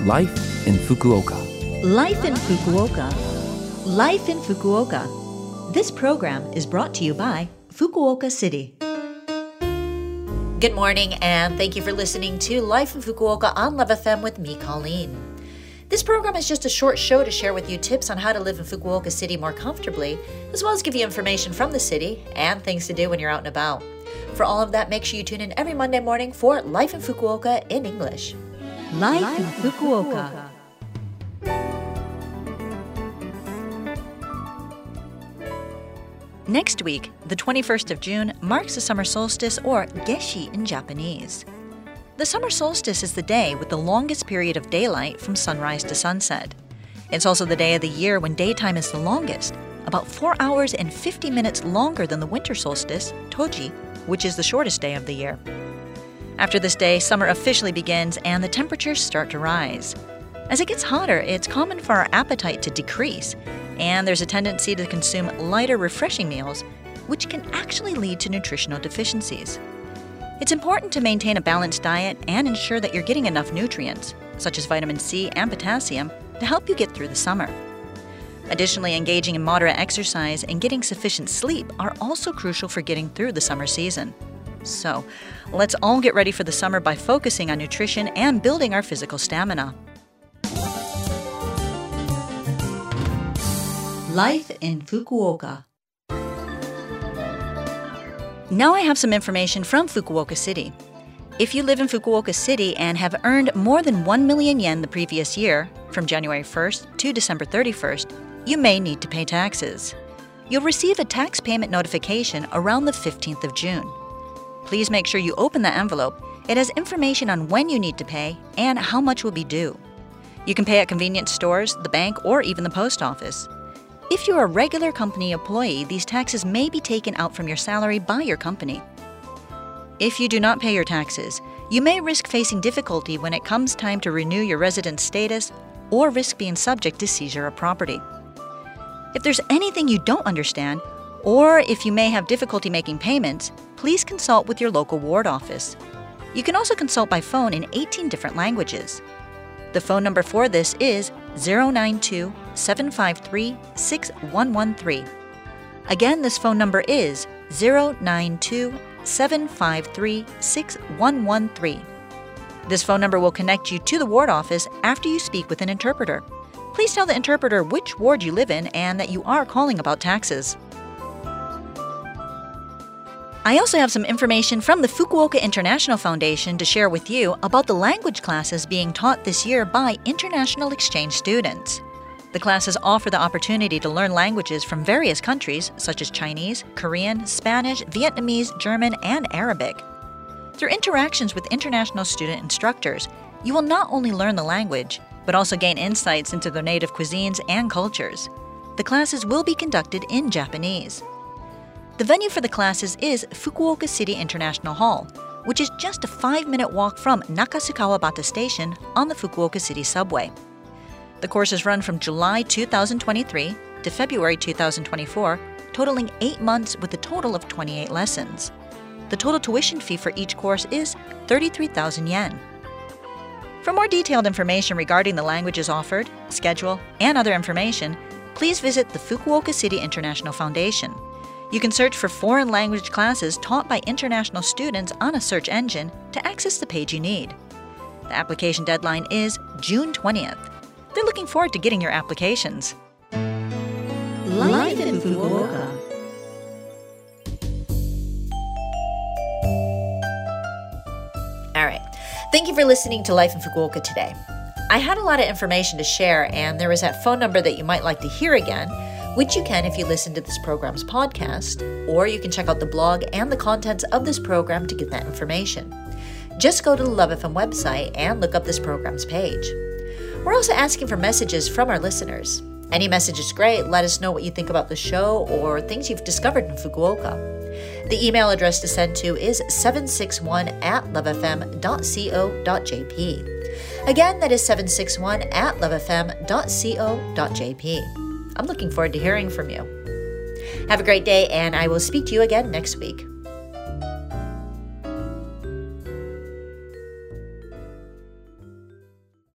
Life in Fukuoka. Life in Fukuoka. Life in Fukuoka. This program is brought to you by Fukuoka City. Good morning, and thank you for listening to Life in Fukuoka on Love FM with me, Colleen. This program is just a short show to share with you tips on how to live in Fukuoka City more comfortably, as well as give you information from the city and things to do when you're out and about. For all of that, make sure you tune in every Monday morning for Life in Fukuoka in English. Life in Fukuoka. Next week, the 21st of June, marks the summer solstice, or Geshi in Japanese. The summer solstice is the day with the longest period of daylight from sunrise to sunset. It's also the day of the year when daytime is the longest, about 4 hours and 50 minutes longer than the winter solstice, Toji, which is the shortest day of the year. After this day, summer officially begins and the temperatures start to rise. As it gets hotter, it's common for our appetite to decrease, and there's a tendency to consume lighter, refreshing meals, which can actually lead to nutritional deficiencies. It's important to maintain a balanced diet and ensure that you're getting enough nutrients, such as vitamin C and potassium, to help you get through the summer. Additionally, engaging in moderate exercise and getting sufficient sleep are also crucial for getting through the summer season. So, let's all get ready for the summer by focusing on nutrition and building our physical stamina. Life in Fukuoka. Now I have some information from Fukuoka City. If you live in Fukuoka City and have earned more than 1 million yen the previous year, from January 1st to December 31st, you may need to pay taxes. You'll receive a tax payment notification around the 15th of June. Please make sure you open the envelope. It has information on when you need to pay and how much will be due. You can pay at convenience stores, the bank, or even the post office. If you're a regular company employee, these taxes may be taken out from your salary by your company. If you do not pay your taxes, you may risk facing difficulty when it comes time to renew your residence status or risk being subject to seizure of property. If there's anything you don't understand, or if you may have difficulty making payments, please consult with your local ward office. You can also consult by phone in 18 different languages. The phone number for this is 092-753-6113. Again, this phone number is 092-753-6113. This phone number will connect you to the ward office after you speak with an interpreter. Please tell the interpreter which ward you live in and that you are calling about taxes. I also have some information from the Fukuoka International Foundation to share with you about the language classes being taught this year by international exchange students. The classes offer the opportunity to learn languages from various countries, such as Chinese, Korean, Spanish, Vietnamese, German, and Arabic. Through interactions with international student instructors, you will not only learn the language, but also gain insights into their native cuisines and cultures. The classes will be conducted in Japanese. The venue for the classes is Fukuoka City International Hall, which is just a 5-minute walk from Nakasukawabata Station on the Fukuoka City subway. The courses run from July 2023 to February 2024, totaling 8 months with a total of 28 lessons. The total tuition fee for each course is 33,000 yen. For more detailed information regarding the languages offered, schedule, and other information, please visit the Fukuoka City International Foundation. You can search for foreign language classes taught by international students on a search engine to access the page you need. The application deadline is June 20th. They're looking forward to getting your applications. Life in Fukuoka. All right. Thank you for listening to Life in Fukuoka today. I had a lot of information to share, and there is that phone number that you might like to hear again, which you can if you listen to this program's podcast, or you can check out the blog and the contents of this program to get that information. Just go to the Love FM website and look up this program's page. We're also asking for messages from our listeners. Any message is great. Let us know what you think about the show or things you've discovered in Fukuoka. The email address to send to is 761@lovefm.co.jp. Again, that is 761@lovefm.co.jp. I'm looking forward to hearing from you. Have a great day, and I will speak to you again next week.